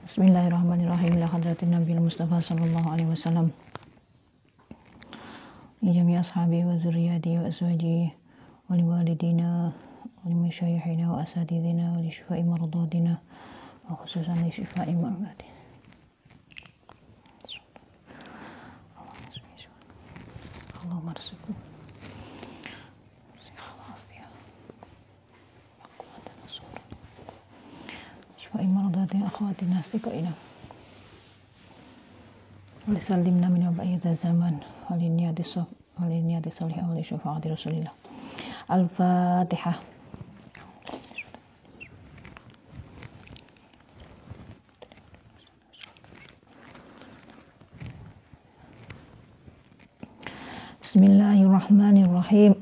Bismillahirrahmanirrahim. Ila hadratin Nabi Mustafa sallallahu alaihi wasallam. Jami ashabi wa zurriyati wa azwaji wa liwalidina wa limasyayikhina wa asatidina wa li syifai mardadina wa khususan li syifai mardadina. Allahumma arzuqna imaratin akhawatina astiqaina wa sallimna min ba'ida zaman waliniyati salihah wa li syafaati rasulillah. Al-Fatihah. Bismillahirrahmanirrahim.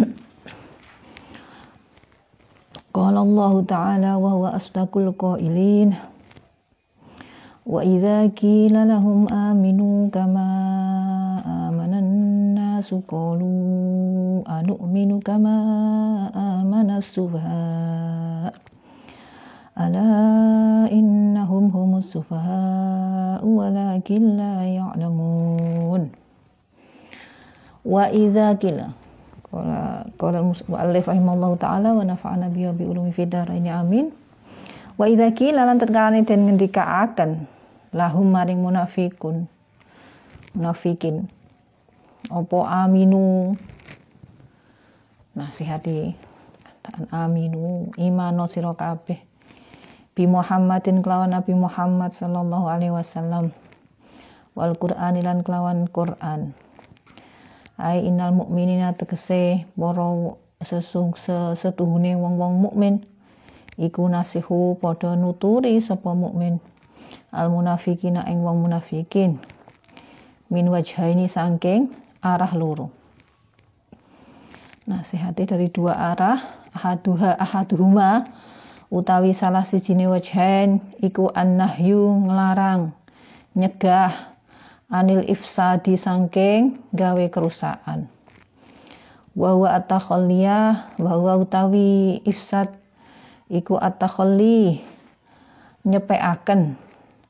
Qala Allah Ta'ala wa huwa asdaqul qailin wa idza qila lahum aminu kama amanan nasu qalu anu'minu kama amana as-sufaha ala innahum humus sufaha walakin la ya'lamun. Wa idza qila qala al-mu'allif rahimallahu ta'ala wa nafa'ana bihi bi ulumi fid dharaini amin. Wa idza qila lan terkalane den ngendikaaken lahum maring munafikin apa aminu nasihati kataan aminu imano sira kabeh bi Muhammadin kelawan Nabi Muhammad sallallahu alaihi wasallam wal Qur'ani lan kelawan Qur'an. Ai innal mukminina tegese para setuhune wong-wong mukmin iku nasihu padha nuturi sapa mukmin al munafiqina ing wong munafikin min wajhaini saking arah loro. Nasihati dari dua arah, ahaduhuma utawi salah sijine wajhain iku annahyu nglarang nyegah anil ifsadi saking gawe kerusakan. Wa huwa at-takhalliya wa huwa utawi ifsad iku at-takhalli nyepekaken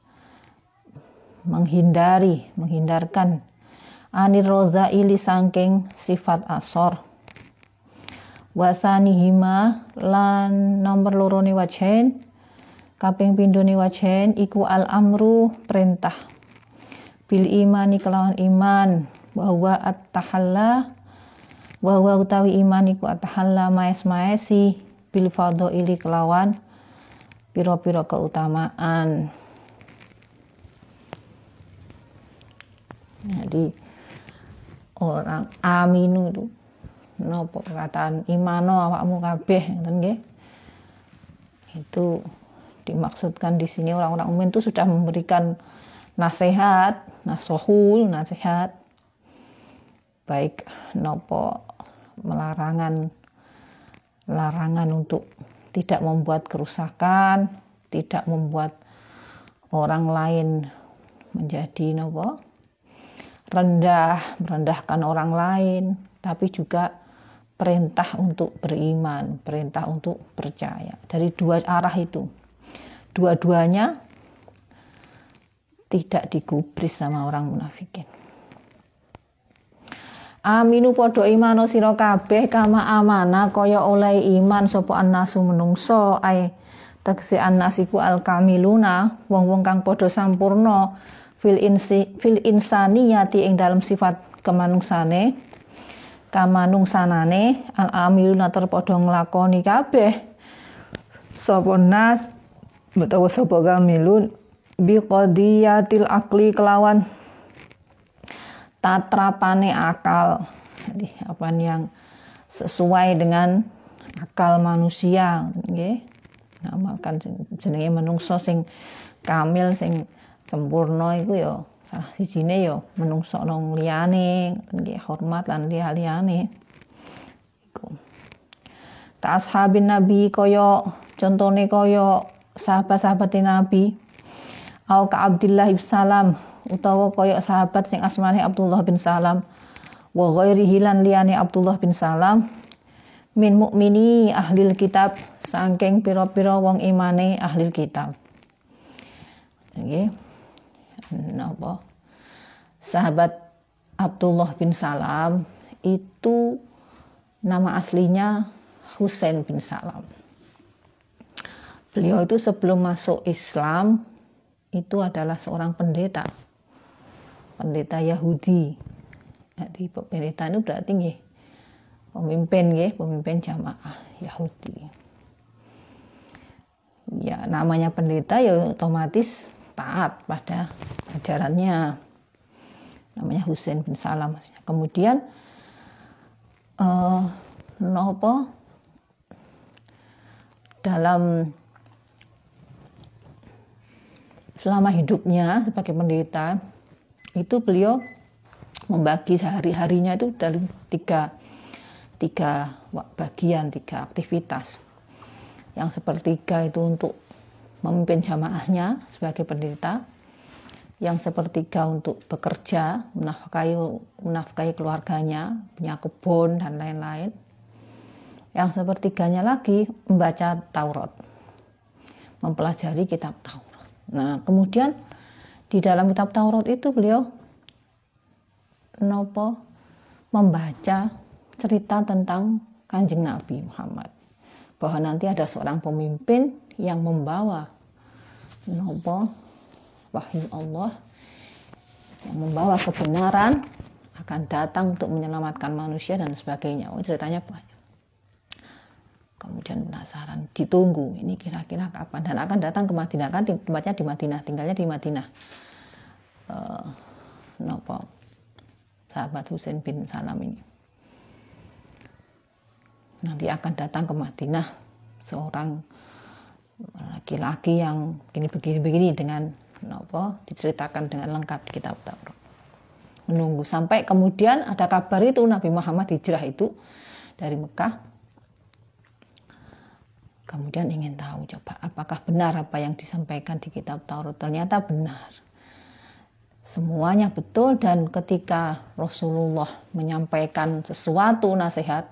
menghindarkan anir radzaili saking sifat asor. Wa tsanihima lan nomor lorone wajhain kaping pindhone wajhain iku al-amru perintah bil imani kelawan iman bahwa at-tahalla bahwa utawi iman iku at-tahalla maes-maesi bil fadhaili kelawan pira-pira keutamaan. Jadi orang aminu itu napa perkataan imano awakmu kabeh ngoten nggih. Itu dimaksudkan di sini orang-orang mukmin itu sudah memberikan nasihat baik nopo larangan untuk tidak membuat kerusakan, tidak membuat orang lain menjadi nopo merendahkan orang lain, tapi juga perintah untuk beriman, perintah untuk percaya. Dari dua arah itu, dua-duanya tidak digubris sama orang munafikin. Aminu padha imano sira kabeh kama amana kaya oleh iman sapa annasu menungso ae tegese annasiku al-kamiluna wong-wong kang padha sampurna fil insaniyati ing dalam sifat kemanungsanane kamanungsanane al-amiluna ter padha nglakoni kabeh sapa nas utawa sapa kamilun biqadiyatil akli kelawan tatrapane akal. Jadi apa yang sesuai dengan akal manusia nggih. Ngamalkan jenenge menungso sing kamil sing sempurna iku ya salah sijine ya menungso nang liyane nggih hormat lan liyane. Iku. Ka ashabin nabi kaya contone kaya sahabat-sahabat Nabi au ka Abdullah bin Salam utawa kaya sahabat sing asmane Abdullah bin Salam wa ghairihi lan liyane Abdullah bin Salam min mukmini ahlil kitab saking pira-pira wong imane ahlil kitab. Nggih. Napa? Sahabat Abdullah bin Salam itu nama aslinya Husain bin Salam. Beliau itu sebelum masuk Islam itu adalah seorang pendeta Yahudi. Jadi pendeta itu berarti nggih pemimpin jamaah Yahudi. Ya namanya pendeta ya otomatis taat pada ajarannya. Namanya Husain bin Salam. Kemudian dalam selama hidupnya sebagai pendeta itu beliau membagi sehari-harinya itu dalam tiga bagian, 3 aktivitas. Yang sepertiga itu untuk memimpin jamaahnya sebagai pendeta, yang sepertiga untuk bekerja, menafkahi keluarganya, punya kebun dan lain-lain. Yang sepertiganya lagi membaca Taurat, mempelajari kitab Taurat. Nah, kemudian di dalam kitab Taurat itu beliau membaca cerita tentang Kanjeng Nabi Muhammad, bahwa nanti ada seorang pemimpin yang membawa wahyu Allah, yang membawa kebenaran, akan datang untuk menyelamatkan manusia dan sebagainya. Ceritanya banyak. Kemudian penasaran, ditunggu ini kira-kira kapan, dan akan datang ke Madinah, kan tempatnya di Madinah, tinggalnya di Madinah. Sahabat Husain bin Salam ini nanti akan datang ke Madinah seorang laki-laki yang begini dengan diceritakan dengan lengkap di kitab Taurat. Menunggu sampai kemudian ada kabar itu Nabi Muhammad hijrah itu dari Mekah. Kemudian ingin tahu coba apakah benar apa yang disampaikan di kitab Taurat. Ternyata benar. Semuanya betul, dan ketika Rasulullah menyampaikan sesuatu nasihat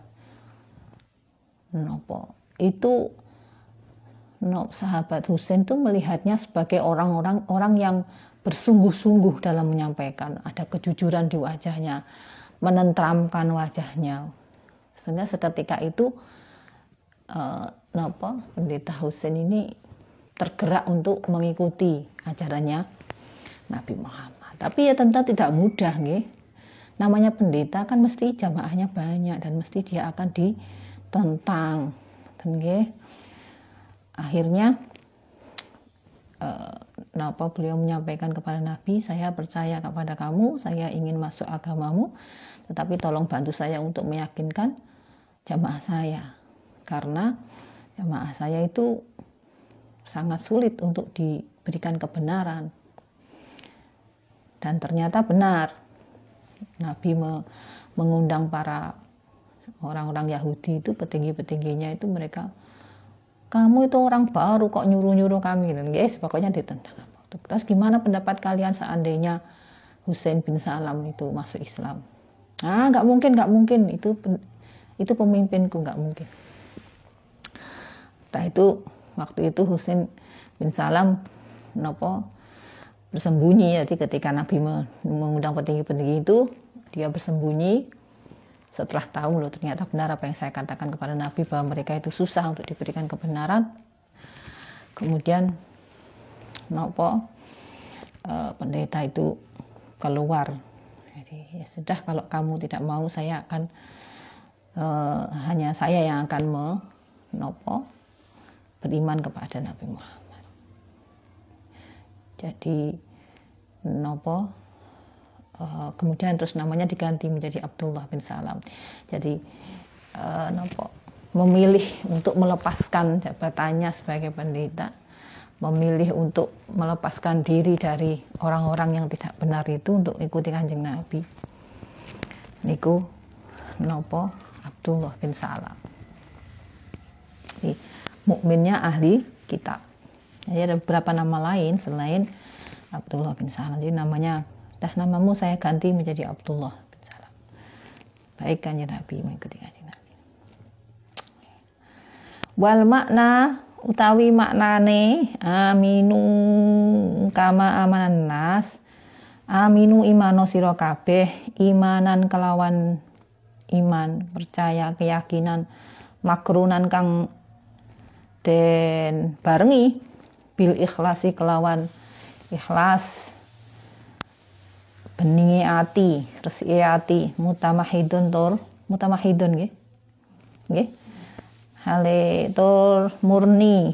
itu sahabat Husain itu melihatnya sebagai orang yang bersungguh-sungguh dalam menyampaikan. Ada kejujuran di wajahnya, menenteramkan wajahnya. Sehingga seketika itu pendeta Husain ini tergerak untuk mengikuti ajarannya Nabi Muhammad. Tapi ya tentu tidak mudah, nggih. Namanya pendeta kan mesti jamaahnya banyak dan mesti dia akan ditentang, nggih. Akhirnya beliau menyampaikan kepada Nabi, saya percaya kepada kamu, saya ingin masuk agamamu, tetapi tolong bantu saya untuk meyakinkan jamaah saya, karena jamaah saya itu sangat sulit untuk diberikan kebenaran. Dan ternyata benar, Nabi mengundang para orang-orang Yahudi itu, petinggi-petingginya itu, mereka, kamu itu orang baru kok nyuruh-nyuruh kami, gitu. Guys, pokoknya ditentang. Terus gimana pendapat kalian seandainya Husain bin Salam itu masuk Islam? Nggak mungkin, itu pemimpinku, nggak mungkin. Nah itu waktu itu Husain bin Salam bersembunyi. Jadi ketika Nabi mengundang petinggi-petinggi itu, dia bersembunyi setelah tahu ternyata benar apa yang saya katakan kepada Nabi, bahwa mereka itu susah untuk diberikan kebenaran. Kemudian pendeta itu keluar. Jadi ya sudah, kalau kamu tidak mau, saya akan hanya saya yang akan beriman kepada Nabi Muhammad. Jadi kemudian terus namanya diganti menjadi Abdullah bin Salam. Jadi memilih untuk melepaskan jabatannya sebagai pendeta, memilih untuk melepaskan diri dari orang-orang yang tidak benar itu untuk ikuti Kanjeng Nabi. Niku Abdullah bin Salam. Jadi, mukminnya ahli kitab. Jadi ada beberapa nama lain selain Abdullah bin Salam. Jadi namamu saya ganti menjadi Abdullah bin Salam. Baik Kanjeng Nabi, mengikuti Kanjeng Nabi. Wal makna utawi maknane aminu kama amanan nas, aminu imano sira kabeh, imanan kelawan iman, percaya, keyakinan, makrunan kang den barengi bil ikhlasi kelawan ikhlas, beningi ati, resike ati, mutamahidun tur mutamahidun nggih. Nggih. Hale tur murni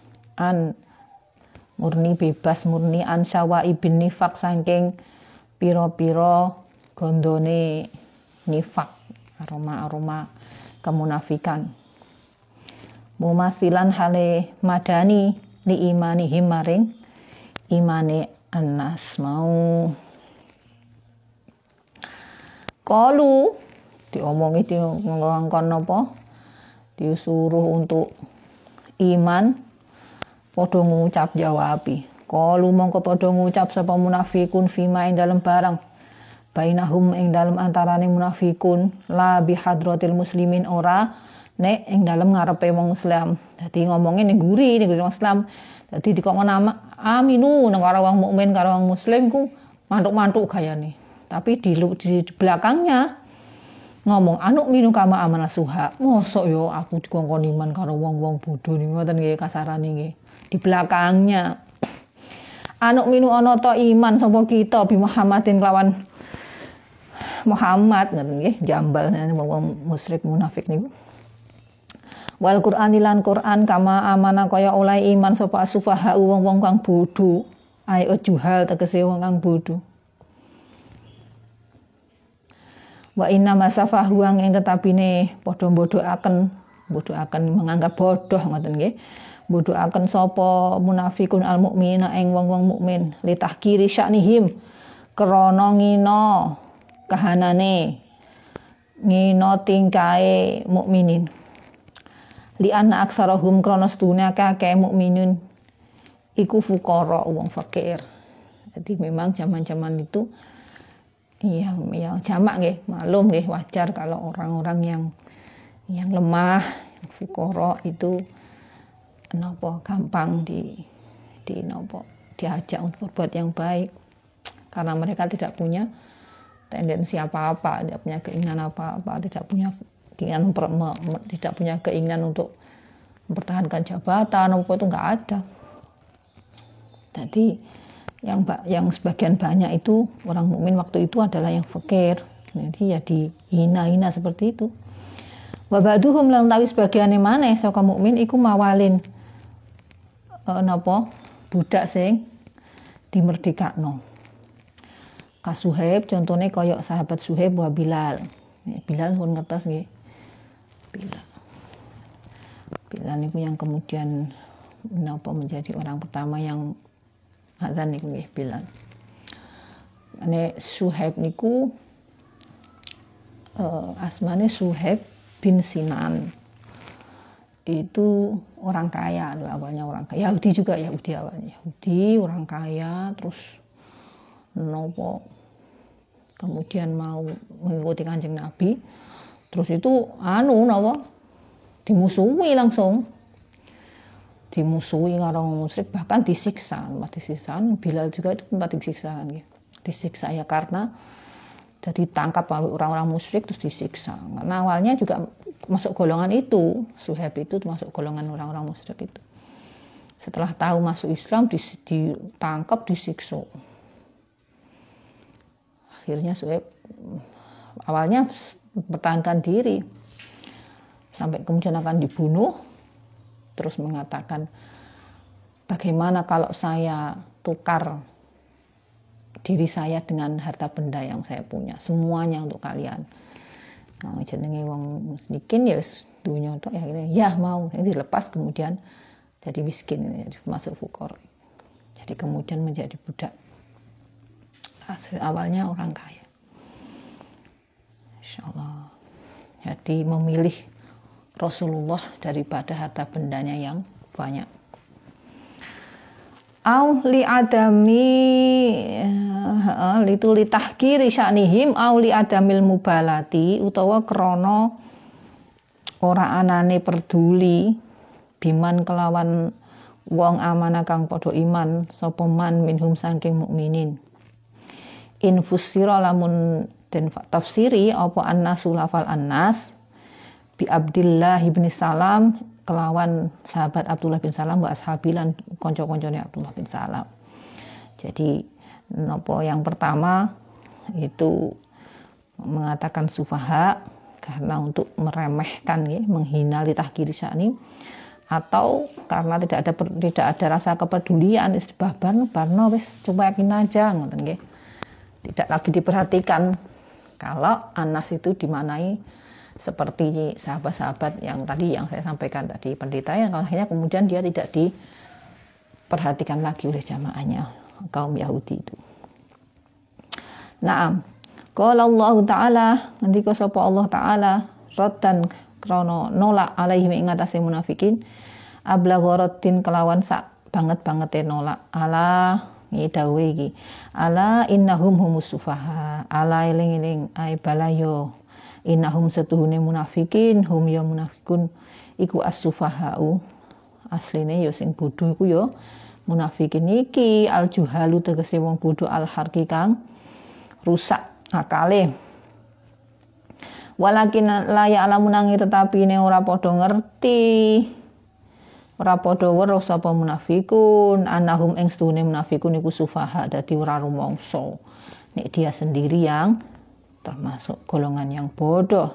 bebas murni an syawa ibn nifak saking pira-pira gondone nifak, aroma kemunafikan. Mumasilan hale madani li imani himaring imane anas mau. Kalu diomongi di ngongkon apa? Disuruh untuk iman, padha ngucap jawabi. Kalu mongko padha ngucap sapa munafikun fima ing dalem barang. Bainahum ing dalem antarane munafikun la bihadratil muslimin ora nek ing dalem ngarepe wong Islam. Dadi ngomongin ning guri ning wong Islam. Dadi dikon nama aminu nang karo wong mukmin karo wong muslim ku mantuk-mantuk gayane. Tapi di belakangnya ngomong anuk minu kama amana suha. Mosok yo aku dikongkon iman karo wong-wong bodho niku ngoten nggih kasarane nggih. Di belakangnya anuk minu ana ta iman sapa kita bi Muhammadin lawan Muhammad ngoten nggih, jambal wong musyrik munafik niku. Wal Qur'an lan Qur'an kama amana kaya oleh iman sapa sufaha wong-wong kang bodho. Ai juhal tegese wong kang bodho. Wa inna masafahu ing tetapine padha bodohaken menganggap bodoh ngoten nggih. Bodohaken sapa munafikun al mukminina ing wong-wong mukmin li tahkiri sya'nihim krana ngina kahanane ngina tingkae mukminin. Li anna aktsarahum krana sedune akeh mukminin iku fuqara wong fakir. Jadi memang zaman-zaman itu iya, yang jamak nggih, maklum nggih wajar kalau orang-orang yang lemah, fuqara itu napa gampang diajak untuk berbuat yang baik karena mereka tidak punya tendensi apa-apa, tidak punya keinginan apa-apa, tidak punya keinginan untuk mempertahankan jabatan apa itu enggak ada. Jadi yang sebagian banyak itu orang mukmin waktu itu adalah yang fakir. Jadi ya dihina-hina seperti itu. Wa ba'duhum lan tawi sebagiane maneh saka mukmin iku mawalin budak sing dimerdekakno. Ka Suhaib contone kaya sahabat Suhaib wa Bilal. Bilal pun ngertos nggih. Bilal niku yang kemudian menjadi orang pertama yang adzan niku nggih Bilal. Ane Suhaib niku asmane Suhaib bin Sinan. Itu orang kaya, awalnya orang kaya. Yahudi awalnya. Yahudi, orang kaya, terus kemudian mau mengikuti Kanjeng Nabi. Terus itu dimusuhi langsung. Dimusuhi karo musyrik, bahkan disiksa. Bilal juga itu tempat disiksa kan ya. Disiksa ya karena jadi tangkap oleh orang-orang musyrik terus disiksa. Karena awalnya juga masuk golongan itu, Suhaib itu masuk golongan orang-orang musyrik itu. Setelah tahu masuk Islam ditangkap, disiksa. Akhirnya Suhaib awalnya mempertahankan diri sampai kemudian akan dibunuh. Terus mengatakan, bagaimana kalau saya tukar diri saya dengan harta benda yang saya punya, semuanya untuk kalian. Nah, jenenge wong miskin ya dunya tok ya mau. Jadi dilepas kemudian jadi miskin, masuk fuqara. Jadi kemudian menjadi budak. Awalnya orang kaya. Insyaallah. Jadi memilih Rasulullah daripada harta bendanya yang banyak. Au li adami li tahkiri sya'nihim au li adamil mubalati utawa krana ora anane peduli biman kelawan wong amana kang padha iman sapa man minhum saking mukminin. Infusira lamun den tafsiri apa annasu lafal annas bi Abdillah bin Salam kelawan sahabat Abdullah bin Salam wa ashabilan kanca-kancane Abdullah bin Salam. Jadi nopo yang pertama itu mengatakan sufaha karena untuk meremehkan ya, menghina li tahkiri sya'ni, atau karena tidak ada rasa kepedulian barno wis coba yakin aja ngoten nggih. Tidak lagi diperhatikan kalau anas itu dimanai seperti sahabat-sahabat yang tadi yang saya sampaikan tadi, pendeta yang akhirnya kemudian dia tidak diperhatikan lagi oleh jamaahnya kaum Yahudi itu. Naam. Qala Allah Ta'ala, ngendika sapa Allah Ta'ala raddan krana nolak alaihim ing atase munafikin, ablaghoratin kelawan sak banget-bangete nolak ala ngidawe iki. Ala innahum humus sufaha. Ala eling-eling ai balayo. Innahum setuhune munafikin, hum ya munafikun iku as-sufahau. Asline ya sing bodho iku ya munafikin iki al-juhalu tegese wong bodho al-harki kang rusak akale. Walakin la ya'lamun nanging tetapi ne ora padha ngerti. Ora padha weruh sapa munafikun annahum ing stune munafikun iku sufaha, dadi ora rumangsa nek dia sendiri yang termasuk golongan yang bodoh.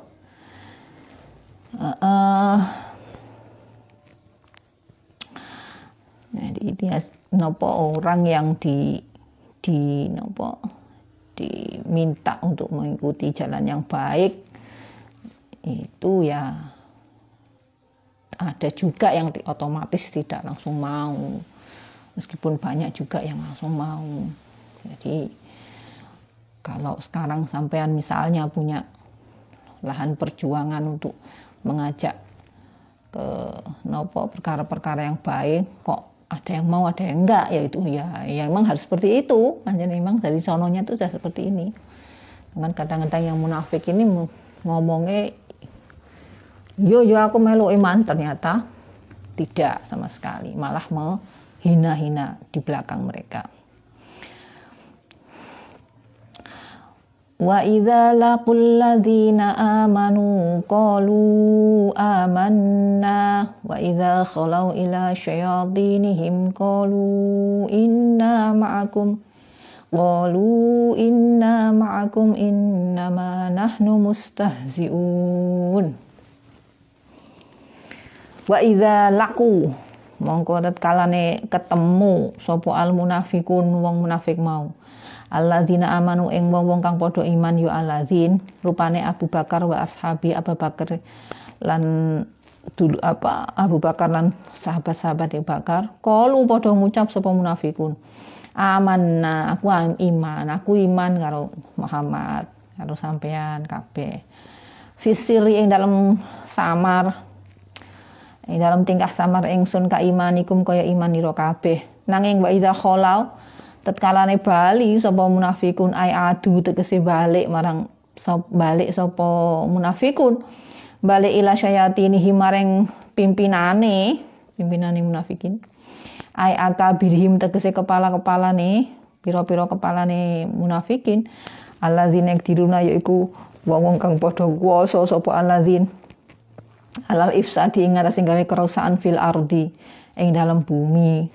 Jadi dia nopo orang yang diminta untuk mengikuti jalan yang baik itu ya ada juga yang otomatis tidak langsung mau, meskipun banyak juga yang langsung mau. Jadi kalau sekarang sampean misalnya punya lahan perjuangan untuk mengajak ke perkara-perkara yang baik, kok ada yang mau ada yang enggak, ya itu ya memang harus seperti itu kan. Jadi memang dari sononya itu sudah seperti ini kan. Kadang-kadang yang munafik ini ngomongnya yo aku melu iman, ternyata tidak sama sekali, malah menghina-hina di belakang mereka. Wa idza laqul ladzina amanu qalu amanna wa idza khalau ila syayatinihim qalu inna ma'akum innama nahnu mustahzi'un. Wa idza laqu mongko tatkalane ketemu sapa al munafikun wong munafik mau, alladzina amanu ing wong kang padha iman ya alladzin rupane Abu Bakar wa ashabi Abu Bakar lan Abu Bakar lan sahabat-sahabat Abu Bakar qalu padha ngucap sapa munafikun amanna aku iman karo Muhammad karo sampean kabeh fisiri ing dalam samar ing dalam tingkah samar ingsun ka imanikum kaya iman ira kabeh. Nanging wa idza khalau tatkalane bali sapa munafikun ai adu tegese balik sapa munafikun balik ila syayatinihi maring pimpinane munafikin ai akabirhim tegese kepala-kepalane pira-pira kepalane munafikin alladzina diruna yaiku wong kang padha kuwasa sapa alladzin alal ifsadi ing ngatasi gawe kerusakan fil ardi ing dalam bumi.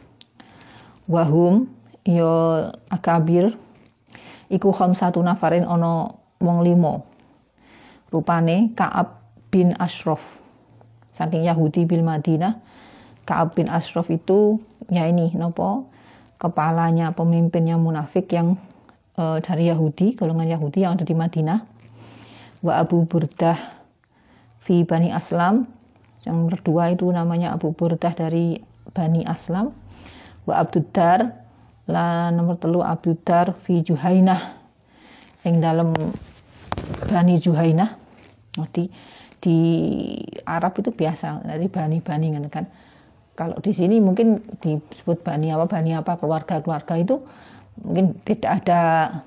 Wahum ya akabir iku khamsatu nafarin ana wong 5. Rupane Ka'ab bin Ashraf saking Yahudi bil Madinah. Ka'ab bin Ashraf itu ya ini kepalanya, pemimpinnya munafik yang dari Yahudi, golongan Yahudi yang ada di Madinah. Wa Abu Burdah fi Bani Aslam, yang kedua itu namanya Abu Burdah dari Bani Aslam. Wa Abduddar la nomor 3 Abduddar fi Juhainah yang dalam Bani Juhainah. Di Arab itu biasa dari bani-bani kan. Kalau di sini mungkin disebut bani apa keluarga itu mungkin tidak ada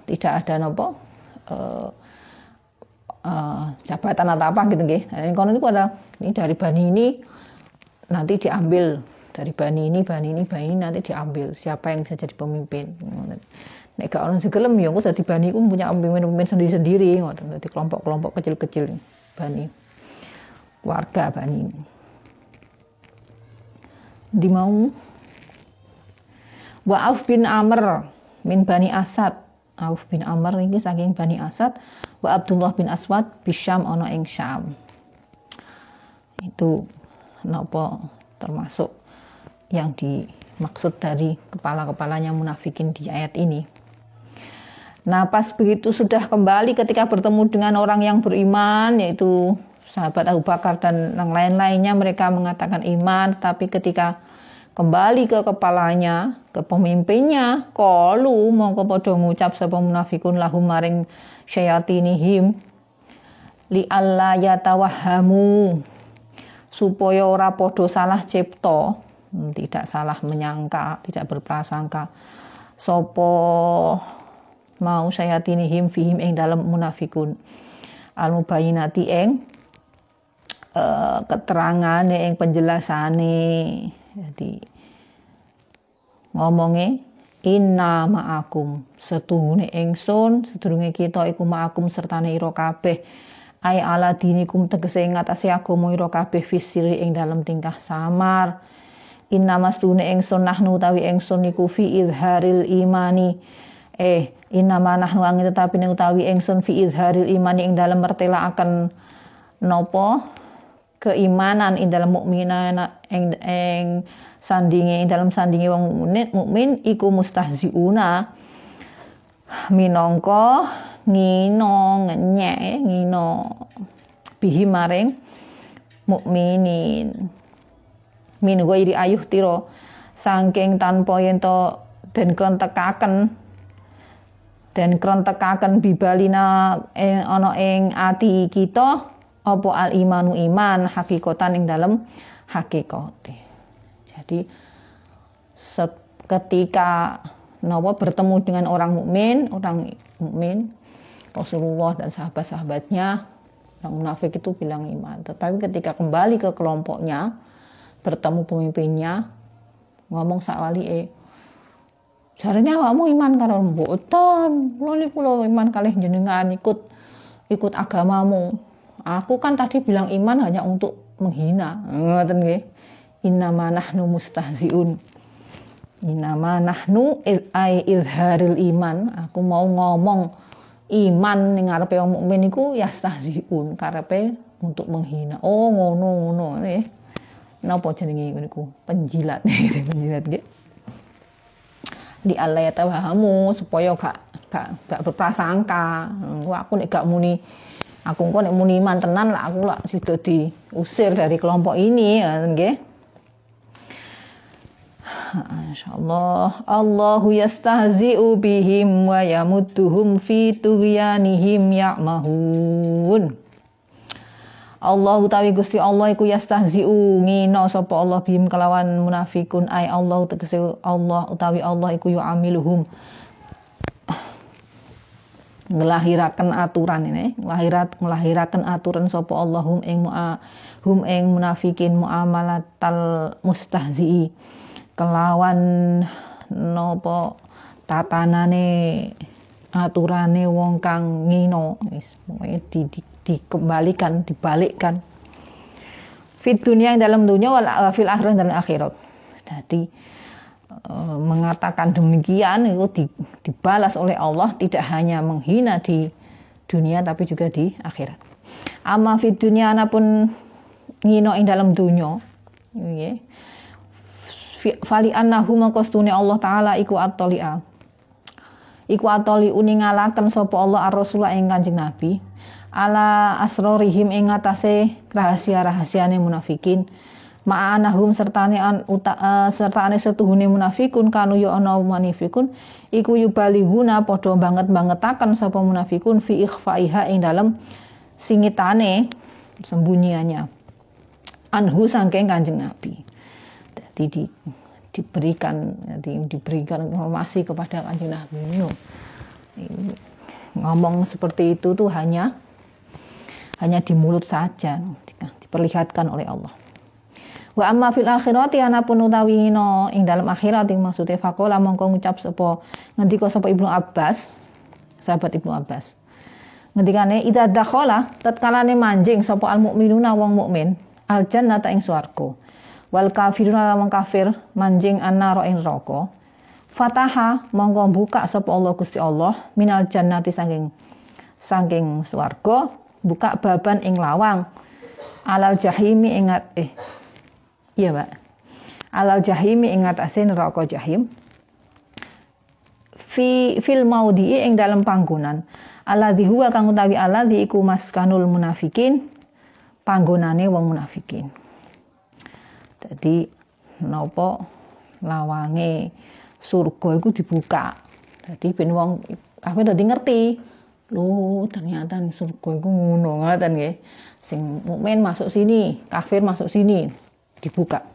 jabatan atau apa gitu nggih. Nah, kono niku ada ini dari bani ini nanti diambil dari bani ini nanti diambil siapa yang bisa jadi pemimpin. Nek gak ono segelem ya engko dadi bani ku punya pemimpin sendiri-sendiri ngoten. Dadi kelompok-kelompok kecil-kecil bani. Warga bani. Di mau wa Auf bin Amr min Bani Asad. Auf bin Amr ini saking Bani Asad. Wa Abdullah bin Aswad bisyam ana ing Syam. Itu napa termasuk yang dimaksud dari kepala-kepalanya munafikin di ayat ini. Nah, pas begitu sudah kembali ketika bertemu dengan orang yang beriman, yaitu sahabat Abu Bakar dan yang lain-lainnya, mereka mengatakan iman, tapi ketika kembali ke kepalanya, ke pemimpinnya, qalu mongko padha ngucap sapa munafikun lahum maring syayatinihim li alla yatawahhamu, supaya ora padha salah cipta, tidak salah menyangka, tidak berprasangka sapa mau syayatinihim fihim ing dalam munafikun al mubayyinati ing keterangane ing penjelasane. Jadi ngomongnya inna ma'akum, setuhune ingsun sedurunge kita iku ma'akum sertane ira kabeh, ai ala dinikum tegese ing atase agama ira kabeh fisiri ing dalam tingkah samar. Inna mastune ingsun nahnu utawi ingsun niku fi izharil imani inna ma nahnu angin tetapi ning utawi ingsun fi izharil imani ing dalam mertelaaken napa keimanan ing dalam mukminana ing sandinge ing dalam sandinge wong mukmin iku mustahziuna minangka ngino ngenyek ngino bihi maring mukminin min ghairi ayuh tiro saking tanpa yen to den krentekaken bibalina ana ing ati kita apa al imanu iman hakikatan ing dalam hakikate. Jadi ketika bertemu dengan orang mukmin Rasulullah dan sahabat-sahabatnya, orang munafik itu bilang iman. Tetapi ketika kembali ke kelompoknya, bertemu pemimpinnya, ngomong sakwali jarene awakmu iman karo mboten. Kula iman kalih jenengan ikut agamamu. Aku kan tadi bilang iman hanya untuk menghina. Ngoten nggih. Innama nahnu mustahziun. Innama nahnu izharil iman. Aku mau ngomong iman ning ngarepe wong mukmin iku yastahziun, karepe untuk menghina. Oh, ngono nggih. Napa jenenge niku? Penjilat. Penjilat nggih. Di Allah tawahamu supaya gak berprasangka. Aku nek gak muni aku kok nek muni iman tenan lah aku lak sida diusir dari kelompok ini ya nggih. Insyaallah Allahu yastahzi'u bihim wa yamudduhum fi tughyanihim ya'mahun. Allah utawi Gusti Allah iku yastahzi'u ngino sapa Allah bihim kelawan munafikun ai Allah tegese Allah utawi Allah iku yu'amiluhum ngelahiraken aturan ini, ngelahiraken aturan sapa Allah hum ing munafikin muamalatal mustahzi'i kelawan napa tatanane aturane wong kang ngino wis pokoke dibalikkan fit dunia yang dalam dunia wal fil akhirah dan akhirat. Jadi mengatakan demikian itu dibalas oleh Allah, tidak hanya menghina di dunia tapi juga di akhirat. Amma fid dunia anapun ngino ing dalam dunia nggih. Fali annahu maqastune Allah taala iku at-tali'a. Iku atoli uningalaken sapa Allah ar-rasul ing Kanjeng Nabi ala asrorihim ing atase rahasia-rahasiane munafikin. Ma'anahum sertane setuhune munafikun kanu ya ana munafikun iku yubalihuna padha banget-bangetaken sapa munafikun fi ikhfaiha ing dalem singitane sembunyiannya anhu saking Kanjeng Nabi. Jadi diberikan informasi kepada Kanjeng Nabi. Ngomong seperti itu tuh hanya di mulut saja, diperlihatkan oleh Allah. Wa amma fil akhirati anapun utawi no ing dalam akhirat ing maksude faqala mongko ngucap sapa ngendika sapa Ibnu Abbas, sahabat Ibnu Abbas. Ngendikane idza dakhala tatkalane manjing sapa al mukminuna wong mukmin al jannata ing swarga. Wal kafiruna wong kafir manjing annara ing neraka. Fataha mongko buka sapa Allah Gusti Allah minal jannati saking swarga, buka baban ing lawang alal jahimi ingat iya Pak. Alal jahimi ingat asin neraka jahim. Fil maudhi'i ing dalam panggonan. Alladzi huwa kang utawi alladzi iku maskanul munafikin, panggonane wong munafikin. Jadi napa lawange surga iku dibuka. Jadi ben wong kafir dadi ngerti. Loh, ternyata surga iku ngono ngoten nggih. Sing mukmin masuk sini, kafir masuk sini, dibuka.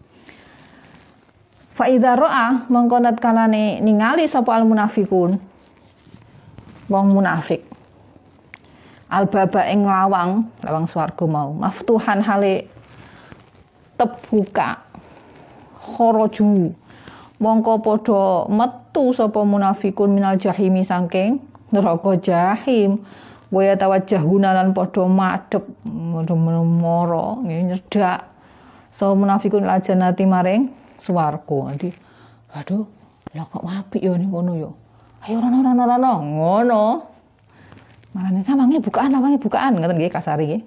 Fa idza ra'a mongko tatkalane ningali sapa al munafiqun wong munafik albaba ing lawang swarga mau maftuhan hale tebuka kharaju mongko padha metu sapa munafikun minal jahimi saking neraka jahim wa tawajjahuna lan padha madhep mara nyedak so munafikun lajanati maring swarga. Nanti waduh lah kok apik ya ning kono ya. Ayo rono ngono. Marane lawange bukaan ngoten nggih kasare nggih.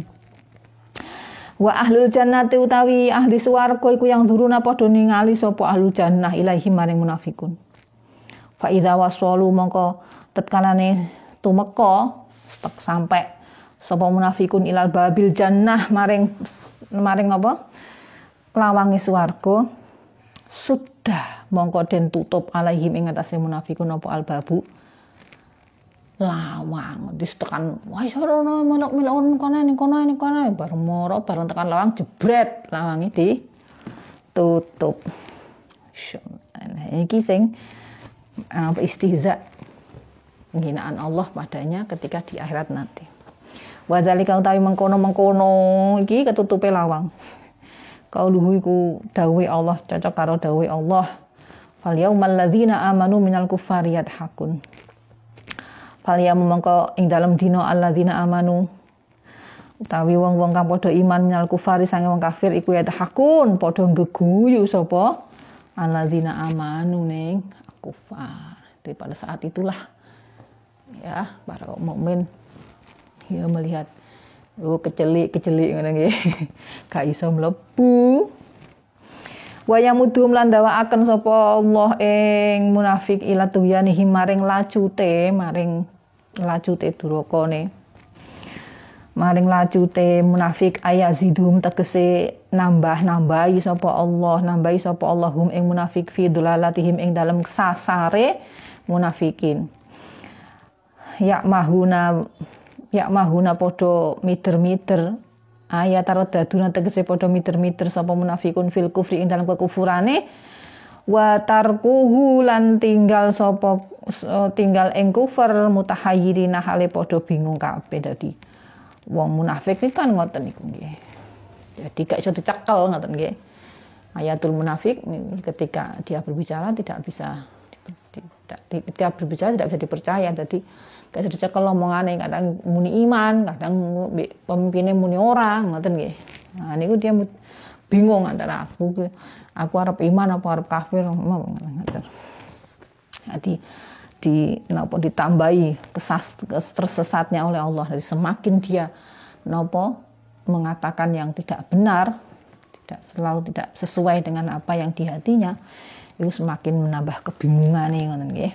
Wa ahlul jannati utawi ahli swarga iku yang duruna padha ningali sapa ahlul jannah ilahi maring munafikun. Fa idza wasalu mongko tatkalane tumeka sampai sapa munafikun ilal babil jannah maring apa? Lawange swarga sudah mongko den tutup alaihim ing atase munafikun apa albabu lawang distekan wis ora melok-melok kono bareng moro bareng tekan lawang jebret lawange ditutup. Iki sing istihza penghinaan Allah padanya ketika di akhirat nanti. Wa zalika utawi mengkono-mengkono iki ketutupe lawang. Qauluhu iku dawuhe Allah cocok karo dawuhe Allah. Fal yaumal ladzina amanu minal kuffari yadhakun. Fal yaum mongko ing dalem dina alladzina amanu utawi wong-wong kang padha iman minal kuffari sange wong kafir iku yadhakun padha geguyu sapa alladzina amanu ning kuffar. Jadi pada saat itulah ya para mukmin ya melihat kecelik ngono nggih. Gak iso mlebu. Wa yamudhum lan dawaaken sapa Allah ing munafik ila tuyanihim maring lacute durakane. Maring lacute munafik ayazidhum tegese nambahi sapa Allah hum ing munafik fi dulalatihim ing dalem sasare munafikin. Ya mahuna podo mider-mider ayat taradaduna tegese podo mider-mider sapa munafikun fil kufri ing dalam kekufurane wa tarkuhu lan tinggal ing kufur mutahayyirina hale podo bingung kabeh. Dadi wong munafik iki kan ngoten niku nggih. Jadi gak iso dicekel ngoten nggih. Ayatul munafik ketika dia berbicara tidak bisa dipercaya. Jadi kayak dicekel omongane kadang muni iman, kadang pemimpinnya muni orang, ngoten nggih. Nah niku dia bingung antara aku arep iman apa arep kafir ngoten. Jadi ditambahi tersesatnya oleh Allah. Jadi semakin dia mengatakan yang tidak benar, tidak sesuai dengan apa yang di hatinya, itu semakin menambah kebingungan ngoten nggih.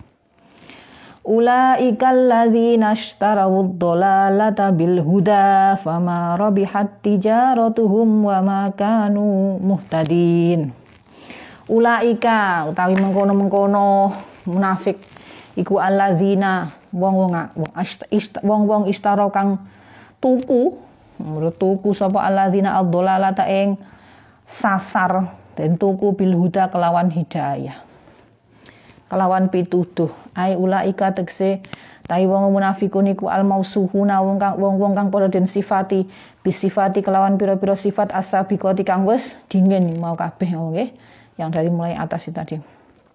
Ulaikal ladzina ishtarawud dhalalata bil huda fama rabihat tijaratuhum wa ma kanu muhtadin. Ulaika utawi mengkono-mengkono munafik iku alladzina wong-wong istara kang tuku sapa alladzina ad-dhalalata ing sasar dan tuku bil huda kelawan hidayah. kelawan pituduh. Ai ulaika tegese tai wong munafikun iku al mausuhuna wong kang padha den sifati bisifati kelawan pira-pira sifat asabiqati kang wis dingin mau kabeh nggih yang dari mulai atas itu tadi.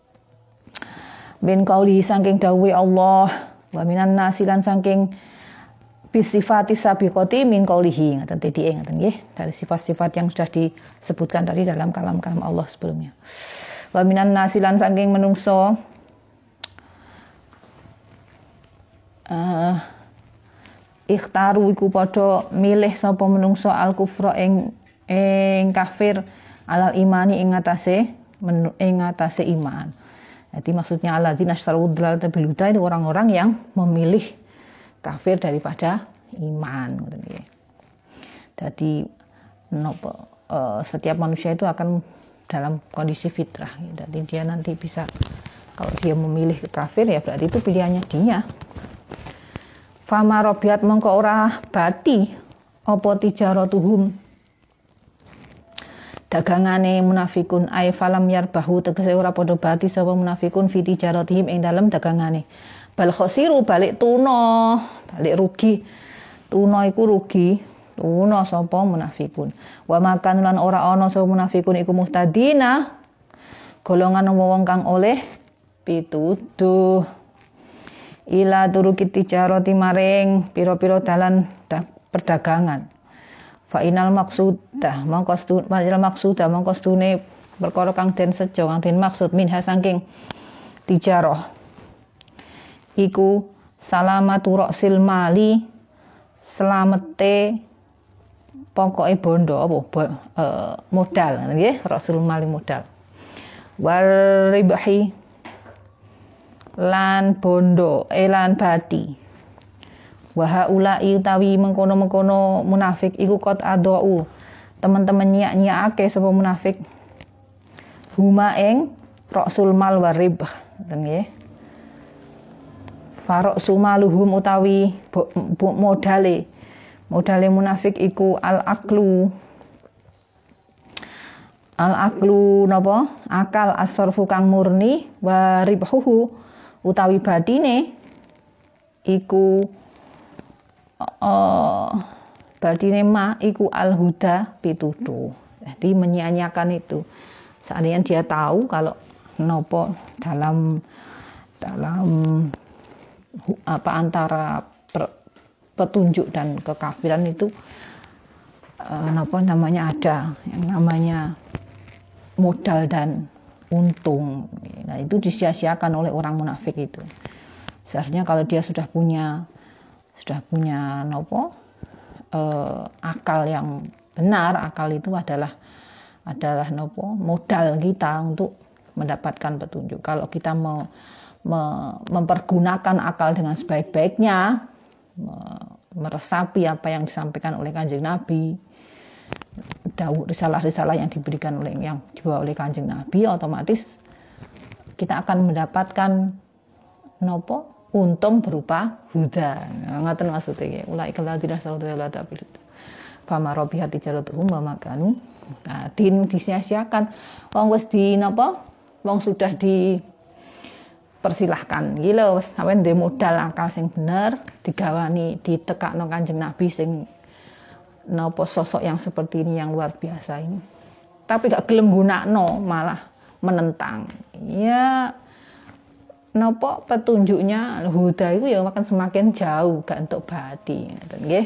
Bin qauli saking dawuhe Allah wa minan nasi lan saking bisifati sabiqati min qaulihi ngaten tadi ngaten nggih dari sifat-sifat yang sudah disebutkan tadi dalam kalam-kalam Allah sebelumnya. Wa minan nasi lan saking menungso ikhtaru iku padha milih sapa menungso al kufra ing kafir alal imani ing atase iman. Jadi maksudnya alladzina astaru dhalata bil huda itu orang-orang yang memilih kafir daripada iman ngoten nggih. Jadi setiap manusia itu akan dalam kondisi fitrah. Jadi dia nanti bisa kalau dia memilih kafir ya berarti itu pilihannya dia. Fama robiat mongko ora bati apa tijaratuhum dagangane munafikun ay falam yarbahu tegese ora padha bati sapa munafikun fi tijaratihim ing dalem dagangane bal khosiru balik tuna balik rugi tuna iku rugi tuna sapa munafikun wa makan lan ora ana sapa munafikun iku muhtadina golongan wong kang oleh pituduh ila turuki tijarati maring pira-pira dalan perdagangan fa inal maqsudah mongko stune perkara kang den sejo kang den maksud minha saking tijarah iku salamatu ra'sil mali slamete pokoke bondo apa modal nggih ra'sul mali modal waribahi lan bondo lan bati wa haula'i utawi mengkono-mengkono munafik iku qad adau teman-teman nyiak-nyiakake sapa munafik huma ing ra'sul mal warib ngoten nggih farok sumaluhum utawi modale munafik iku al aklu napa akal asarfu kang murni wa ribhuhu utawi badine iku badine ma iku al huda pituduh. Jadi menyia-nyiakan itu. Seandainya dia tahu kalau nopo dalam apa antara petunjuk dan kekafiran itu nopo namanya ada yang namanya modal dan untung. Nah, itu disia-siakan oleh orang munafik itu. Seharusnya kalau dia sudah punya akal yang benar, akal itu adalah modal kita untuk mendapatkan petunjuk. Kalau kita mempergunakan akal dengan sebaik-baiknya, meresapi apa yang disampaikan oleh Kanjeng Nabi, risalah-risalah yang dibawa oleh Kanjeng Nabi, otomatis kita akan mendapatkan untung berupa huda. Ngoten maksudnya. Ulaika alladzina asrafu la tabil. Fama rabihat tijaratuhum wa makanu. Nah, disia-siakan. Wong wis wong sudah dipersilahkan. Gila wis sampeyan ndek modal akal sing bener, digawani ditekakno Kanjeng Nabi sing sosok yang seperti ini yang luar biasa ini. Tapi gak gelem gunakno, malah menentang. Ya petunjuknya huda itu ya makan semakin jauh gak entuk badi ngoten nggih.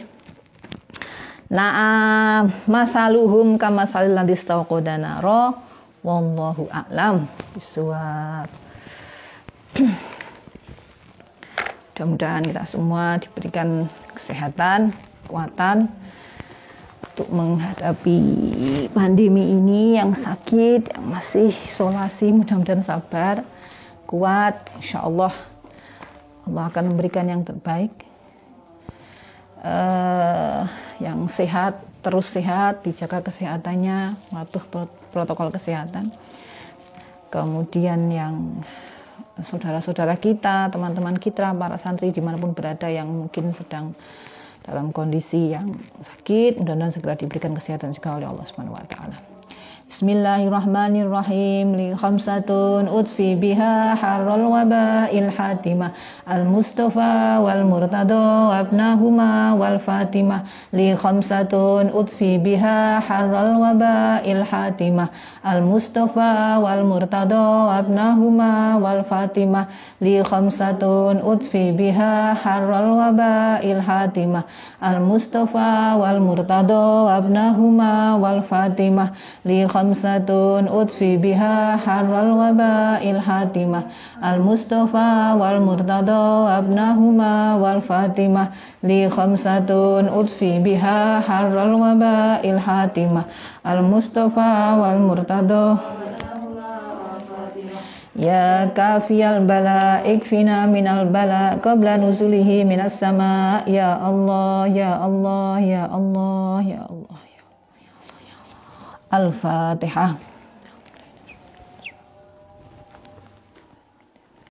Nah, masaluhum kamasalil ladzi istawqada nara wallahu a'lam bishawab. Mudah-mudahan kita semua diberikan kesehatan, kekuatan untuk menghadapi pandemi ini yang sakit, yang masih isolasi. Mudah-mudahan sabar, kuat, insyaallah Allah akan memberikan yang terbaik. Yang sehat, terus sehat, dijaga kesehatannya, mematuhi protokol kesehatan. Kemudian yang saudara-saudara kita, teman-teman kita, para santri dimanapun berada yang mungkin sedang dalam kondisi yang sakit, mudah-mudahan segera diberikan kesehatan juga oleh Allah Subhanahu wa taala. Bismillahirrahmanirrahim. Li khamsatun udfi biha harral waba'il hatimah. Al-Mustafa wal Murtada abnahuma wal Fatimah. Li khamsatun udfi biha harral waba'il hatimah. Al-Mustafa wal Murtada abnahuma wal Fatimah. Li khamsatun udfi biha harral waba'il hatimah. Al-Mustafa wal Murtada abnahuma wal Fatimah. Li khamsatun udfi biha harral waba'il hatimah. Al-Mustafa wal Murtada abnahuma wal Fatimah. Li khamsatun udfi biha harral waba'il hatimah. Al-Mustafa wal Murtada. Ya kafiyal bala ikfina minal bala qabla nuzulihi minas sama. Ya Allah, ya Allah, ya Allah, ya Allah, ya Allah. Al-Fatihah.